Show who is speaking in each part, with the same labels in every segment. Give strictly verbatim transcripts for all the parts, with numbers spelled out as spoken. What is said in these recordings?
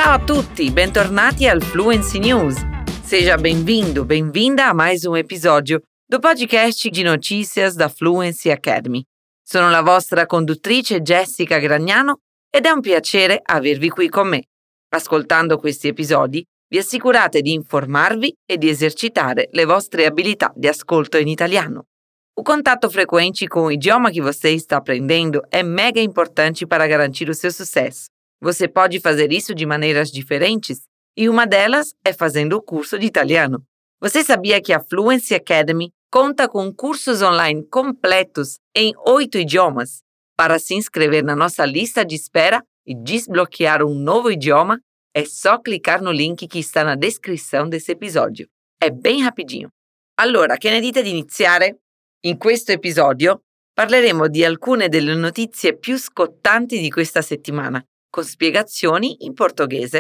Speaker 1: Ciao a tutti, bentornati al Fluency News. Seja bem-vindo, bem-vinda a mais um episódio do podcast de notícias da Fluency Academy. Sono la vostra conduttrice Jessica Gragnano ed è un piacere avervi qui con me. Ascoltando questi episodi, vi assicurate di informarvi e di esercitare le vostre abilità de ascolto in italiano. O contato frequente com o idioma que você está aprendendo é mega importante para garantir o seu sucesso. Você pode fazer isso de maneiras diferentes e uma delas é fazendo o curso de italiano. Você sabia que a Fluency Academy conta com cursos online completos em oito idiomas? Para se inscrever na nossa lista de espera e desbloquear um novo idioma, é só clicar no link que está na descrição desse episódio. É bem rapidinho. Allora, che ne dite di iniziare? In questo episodio parleremo di alcune delle notizie più scottanti di questa settimana, con spiegazioni in portoghese.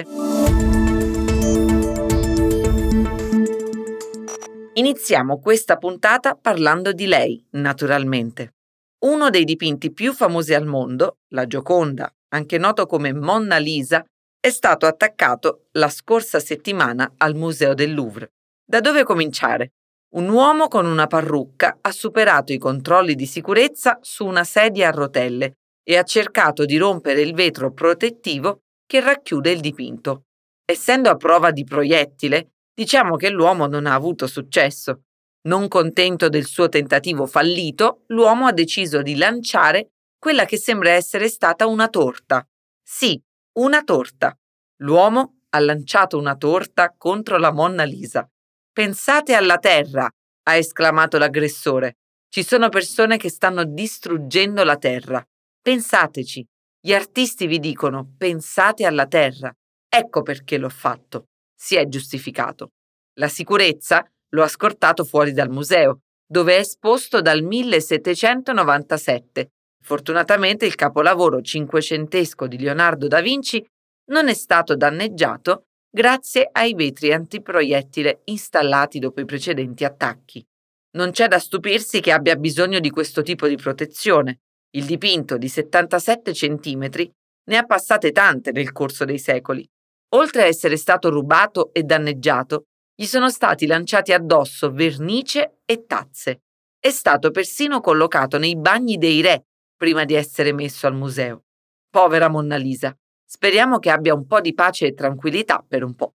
Speaker 1: Iniziamo questa puntata parlando di lei, naturalmente. Uno dei dipinti più famosi al mondo, la Gioconda, anche noto come Monna Lisa, è stato attaccato la scorsa settimana al Museo del Louvre. Da dove cominciare? Un uomo con una parrucca ha superato i controlli di sicurezza su una sedia a rotelle e ha cercato di rompere il vetro protettivo che racchiude il dipinto. Essendo a prova di proiettile, diciamo che l'uomo non ha avuto successo. Non contento del suo tentativo fallito, l'uomo ha deciso di lanciare quella che sembra essere stata una torta. Sì, una torta. L'uomo ha lanciato una torta contro la Monna Lisa. Pensate alla terra, ha esclamato l'aggressore. Ci sono persone che stanno distruggendo la terra. Pensateci. Gli artisti vi dicono pensate alla terra. Ecco perché l'ho fatto. Si è giustificato. La sicurezza lo ha scortato fuori dal museo, dove è esposto dal millesettecentonovantasette. Fortunatamente il capolavoro cinquecentesco di Leonardo da Vinci non è stato danneggiato grazie ai vetri antiproiettile installati dopo i precedenti attacchi. Non c'è da stupirsi che abbia bisogno di questo tipo di protezione. Il dipinto di settantasette centimetri ne ha passate tante nel corso dei secoli. Oltre a essere stato rubato e danneggiato, gli sono stati lanciati addosso vernice e tazze. È stato persino collocato nei bagni dei re prima di essere messo al museo. Povera Monna Lisa. Speriamo che abbia un po' di pace e tranquillità per un po'.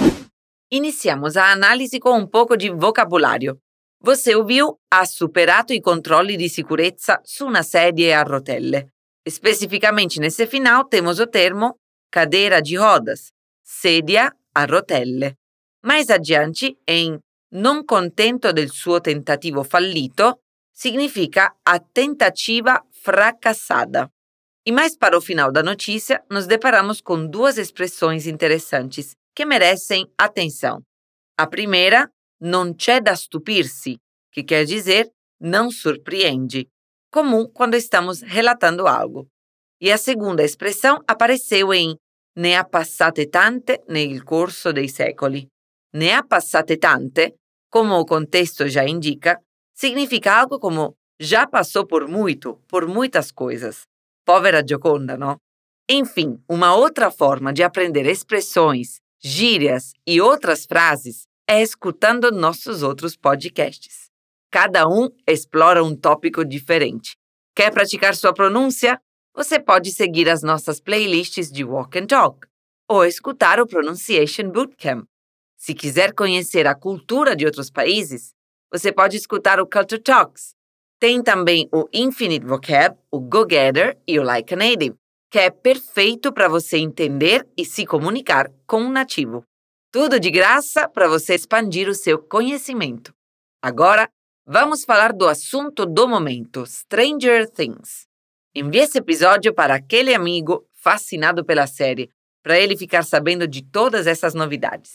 Speaker 1: Iniciamos a análise com um pouco de vocabulário. Você ouviu ha superato i controlli di sicurezza su una sedia a rotelle. Especificamente nesse final temos o termo cadeira de rodas, sedia a rotelle. Mais adiante, em non contento del suo tentativo fallito, significa a tentativa fracassada. E mais para o final da notícia, nos deparamos com duas expressões interessantes que merecem atenção. A primeira, non c'è da stupirsi, que quer dizer não surpreende, comum quando estamos relatando algo. E a segunda expressão apareceu em ne ha passate tante nel corso dei secoli. Ne ha passate tante, como o contexto já indica, significa algo como já passou por muito, por muitas coisas. Povera Gioconda, não? Enfim, uma outra forma de aprender expressões, gírias e outras frases é escutando nossos outros podcasts. Cada um explora um tópico diferente. Quer praticar sua pronúncia? Você pode seguir as nossas playlists de Walk and Talk ou escutar o Pronunciation Bootcamp. Se quiser conhecer a cultura de outros países, você pode escutar o Culture Talks. Tem também o Infinite Vocab, o Go-Getter e o Like a Native, que é perfeito para você entender e se comunicar com um nativo. Tudo de graça para você expandir o seu conhecimento. Agora, vamos falar do assunto do momento, Stranger Things. Envie esse episódio para aquele amigo fascinado pela série, para ele ficar sabendo de todas essas novidades.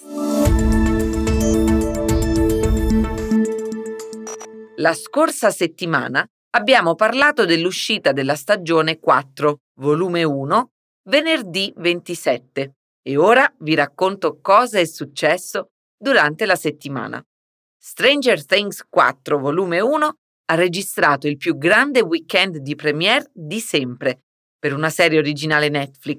Speaker 1: La scorsa settimana abbiamo parlato dell'uscita della stagione quattro, volume uno, venerdì ventisette, e ora vi racconto cosa è successo durante la settimana. Stranger Things quattro, volume uno, ha registrato il più grande weekend di premiere di sempre per una serie originale Netflix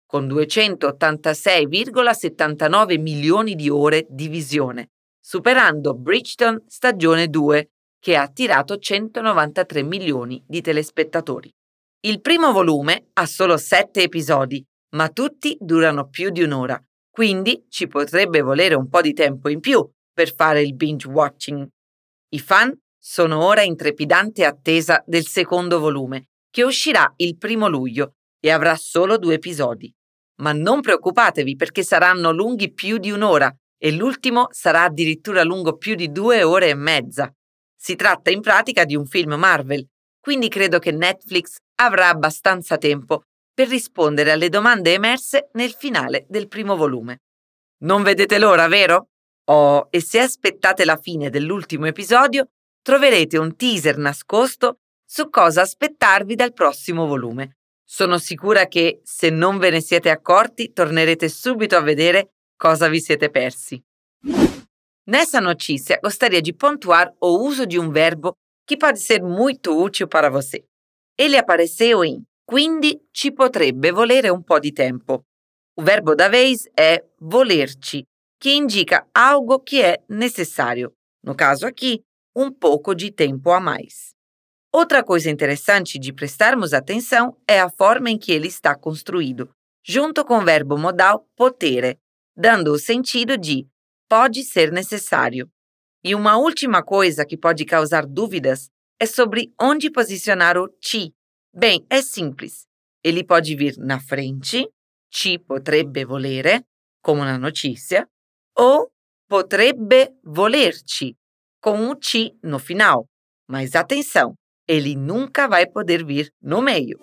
Speaker 1: con duecentottantasei virgola settantanove milioni di ore di visione, superando Bridgerton stagione due, che ha attirato centonovantatré milioni di telespettatori. Il primo volume ha solo sette episodi, ma tutti durano più di un'ora, quindi ci potrebbe volere un po' di tempo in più per fare il binge watching. I fan sono ora in trepidante attesa del secondo volume, che uscirà il primo luglio e avrà solo due episodi. Ma non preoccupatevi perché saranno lunghi più di un'ora e l'ultimo sarà addirittura lungo più di due ore e mezza. Si tratta in pratica di un film Marvel, quindi credo che Netflix avrà abbastanza tempo per rispondere alle domande emerse nel finale del primo volume. Non vedete l'ora, vero? Oh, e se aspettate la fine dell'ultimo episodio, troverete un teaser nascosto su cosa aspettarvi dal prossimo volume. Sono sicura che, se non ve ne siete accorti, tornerete subito a vedere cosa vi siete persi. Nessa notícia, gostaria de pontuar o uso de um verbo que pode ser muito útil para você. Ele apareceu em quindi ci potrebbe volere un po' di tempo. O verbo da vez é volerci, que indica algo que é necessário. No caso aqui, um pouco de tempo a mais. Outra coisa interessante de prestarmos atenção é a forma em que ele está construído, junto com o verbo modal potere, dando o sentido de pode ser necessário. E uma última coisa que pode causar dúvidas é sobre onde posicionar o ci. Bem, é simples. Ele pode vir na frente, ci potrebbe volere, como na notícia, ou potrebbe volerci, com o ci no final. Mas atenção, ele nunca vai poder vir no meio.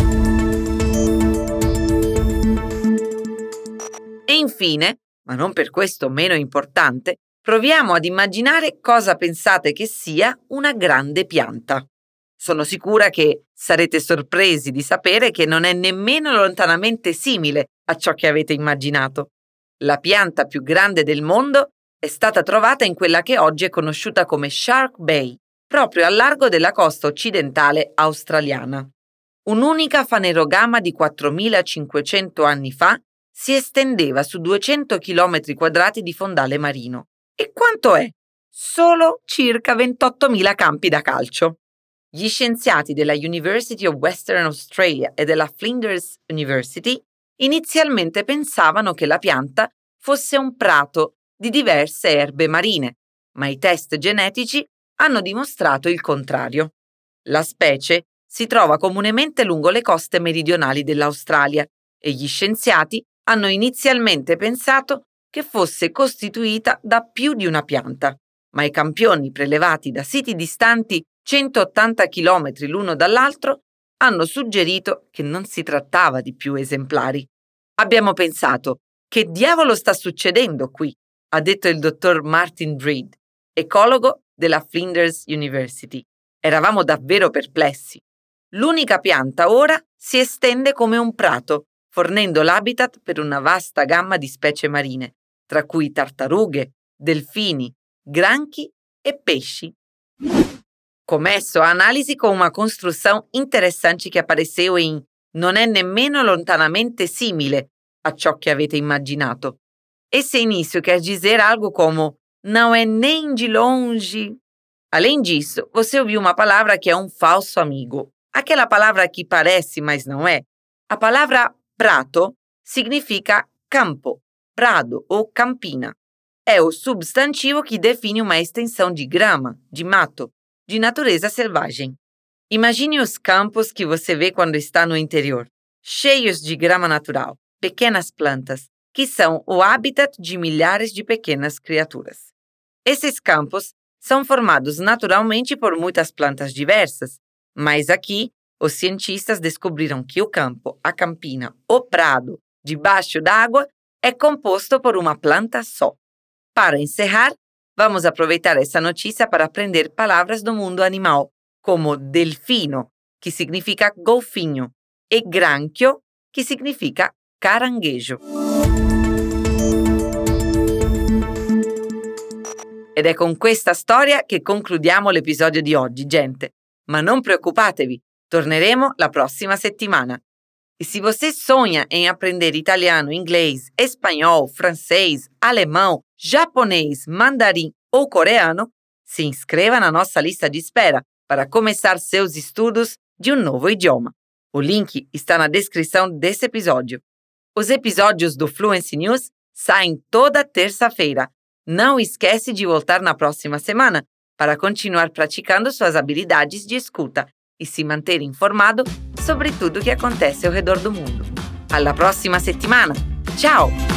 Speaker 1: E infine, ma non per questo meno importante, proviamo ad immaginare cosa pensate che sia una grande pianta. Sono sicura che sarete sorpresi di sapere che non è nemmeno lontanamente simile a ciò che avete immaginato. La pianta più grande del mondo è stata trovata in quella che oggi è conosciuta come Shark Bay, proprio al largo della costa occidentale australiana. Un'unica fanerogama di quattromilacinquecento anni fa si estendeva su duecento chilometri quadrati di fondale marino. E quanto è? Solo circa ventottomila campi da calcio. Gli scienziati della University of Western Australia e della Flinders University inizialmente pensavano che la pianta fosse un prato di diverse erbe marine, ma i test genetici hanno dimostrato il contrario. La specie si trova comunemente lungo le coste meridionali dell'Australia e gli scienziati hanno inizialmente pensato che fosse costituita da più di una pianta, ma i campioni prelevati da siti distanti centottanta chilometri l'uno dall'altro hanno suggerito che non si trattava di più esemplari. Abbiamo pensato, che diavolo sta succedendo qui? Ha detto il dottor Martin Breed, ecologo della Flinders University. Eravamo davvero perplessi. L'unica pianta ora si estende come un prato, fornendo l'habitat per una vasta gamma di specie marine, tra cui tartarughe, delfini, granchi e pesci. Começo a análise com uma construção interessante que apareceu em non è nemmeno lontanamente simile a ciò che avete immaginato. Esse início quer dizer algo como não é nem de longe. Além disso, você ouviu uma palavra que é um falso amigo. Aquela palavra que parece, mas não é. A palavra prato significa campo, prado ou campina. É o substantivo que define uma extensão de grama, de mato, de natureza selvagem. Imagine os campos que você vê quando está no interior, cheios de grama natural, pequenas plantas, que são o habitat de milhares de pequenas criaturas. Esses campos são formados naturalmente por muitas plantas diversas, mas aqui os cientistas descobriram que o campo, a campina, o prado, debaixo d'água, é composto por uma planta só. Para encerrar, vamos aproveitar essa notícia para aprender palavras do mundo animal, como delfino, que significa golfinho, e granchio, que significa caranguejo. Ed è con questa storia che concludiamo l'episodio di oggi, gente. Ma non preoccupatevi, torneremo la prossima settimana. E se você sonha em aprender italiano, inglês, espanhol, francês, alemão, japonês, mandarim ou coreano, se inscreva na nossa lista de espera para começar seus estudos de um novo idioma. O link está na descrição desse episódio. Os episódios do Fluency News saem toda terça-feira. Não esquece de voltar na próxima semana para continuar praticando suas habilidades de escuta e se manter informado sobre tudo o que acontece ao redor do mundo. Alla prossima settimana! Ciao!